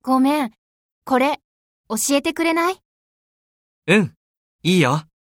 ごめん。これ、教えてくれない？ うん、いいよ。